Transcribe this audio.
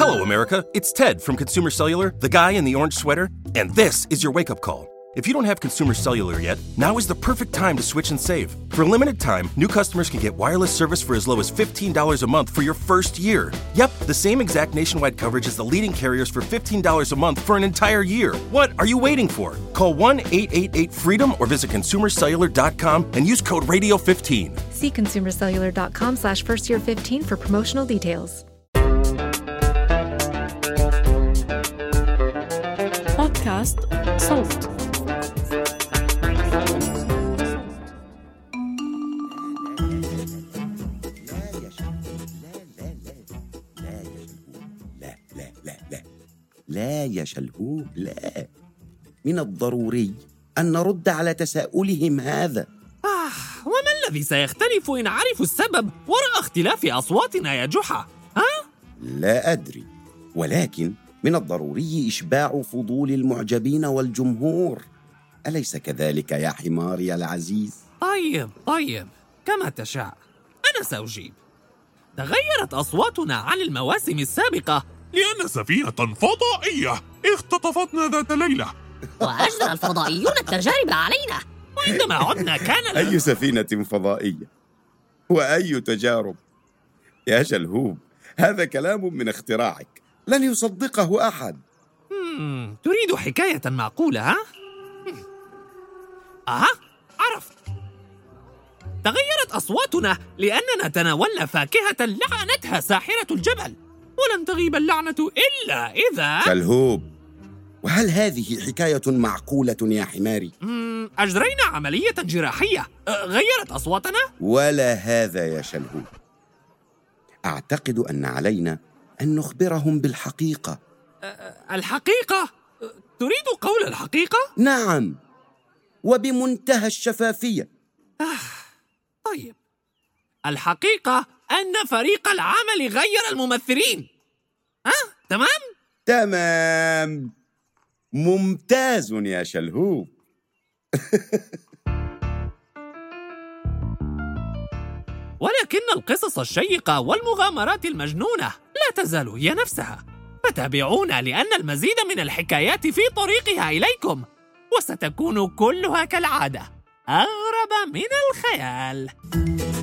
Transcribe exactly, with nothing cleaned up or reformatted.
Hello, America. It's Ted from Consumer Cellular, the guy in the orange sweater, and this is your wake-up call. If you don't have Consumer Cellular yet, now is the perfect time to switch and save. For a limited time, new customers can get wireless service for as low as fifteen dollars a month for your first year. Yep, the same exact nationwide coverage as the leading carriers for fifteen dollars a month for an entire year. What are you waiting for? Call one eight eight eight FREEDOM or visit consumer cellular dot com and use code radio fifteen. See consumer cellular dot com slash first year fifteen for promotional details. بودكاست صوت. لا يا شلهوب، لا. من الضروري أن نرد على تساؤلهم هذا. آه، وما الذي سيختلف إن عرفوا السبب وراء اختلاف أصواتنا يا جحا؟ ها؟ لا أدري، ولكن من الضروري إشباع فضول المعجبين والجمهور. أليس كذلك يا حماري العزيز؟ طيب طيب، كما تشاء. أنا سأجيب. تغيرت أصواتنا عن المواسم السابقة لأن سفينة فضائية اختطفتنا ذات ليلة، وأجرى الفضائيون التجارب علينا، وعندما عدنا كان أي سفينة فضائية وأي تجارب؟ يا شلهوب، هذا كلام من اختراعك، لن يصدقه أحد. مم. تريد حكاية معقولة، ها؟ أها، عرفت. تغيرت أصواتنا لأننا تناولنا فاكهة لعنتها ساحرة الجبل، ولن تغيب اللعنة إلا إذا... شلهوب، وهل هذه حكاية معقولة يا حماري؟ مم. أجرينا عملية جراحية غيرت أصواتنا؟ ولا هذا يا شلهوب. أعتقد أن علينا أن نخبرهم بالحقيقة. الحقيقة؟ تريد قول الحقيقة؟ نعم، وبمنتهى الشفافية. آه، طيب. الحقيقة أن فريق العمل غير الممثلين. ها؟ أه؟ تمام؟ تمام، ممتاز يا شلهوب. ولكن القصص الشيقة والمغامرات المجنونة لا تزال هي نفسها، فتابعونا لأن المزيد من الحكايات في طريقها إليكم، وستكون كلها كالعادة أغرب من الخيال.